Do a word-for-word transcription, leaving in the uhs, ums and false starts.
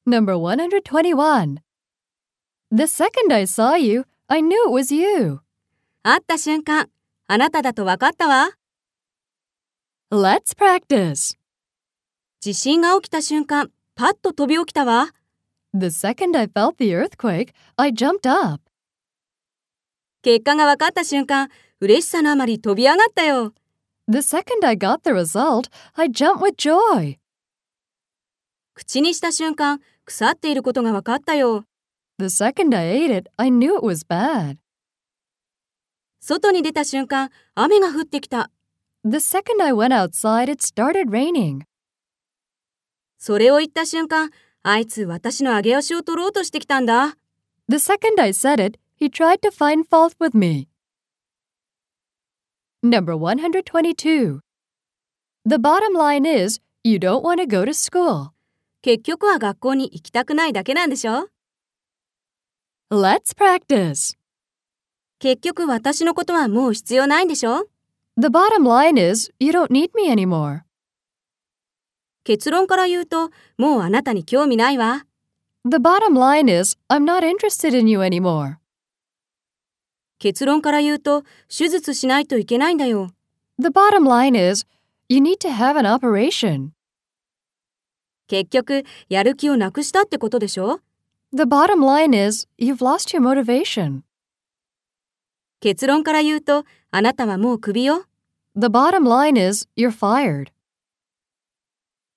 Number one hundred twenty-one. The second I saw you, I knew it was you. 会った瞬間、あなただと分かったわ。 Let's practice. 地震が起きた瞬間、パッと飛び起きたわ。 The second I felt the earthquake, I jumped up. 結果が分かった瞬間、嬉しさのあまり飛び上がったよ。 The second I got the result, I jumped with joy. 口にした瞬間、腐っていることが分かったよ。 The second I ate it, I knew it was bad. 外に出た瞬間、雨が降ってきた。 The second I went outside, it started raining. それを言った瞬間、あいつ私の上げ足を取ろうとしてきたんだ。 The second I said it, he tried to find fault with me. Number one hundred twenty-two. The bottom line is, you don't want to go to school. 結局は学校に行きたくないだけなんでしょ？ Let's practice. 結局私のことはもう必要ないんでしょ？ The bottom line is, you don't need me anymore. 結論から言うと、もうあなたに興味ないわ。 The bottom line is, I'm not interested in you anymore. 結論から言うと、手術しないといけないんだよ。 The bottom line is, you need to have an operation. 結局、やる気をなくしたってことでしょ？ The bottom line is, you've lost your motivation. 結論から言うと、あなたはもうクビよ。 The bottom line is, you're fired.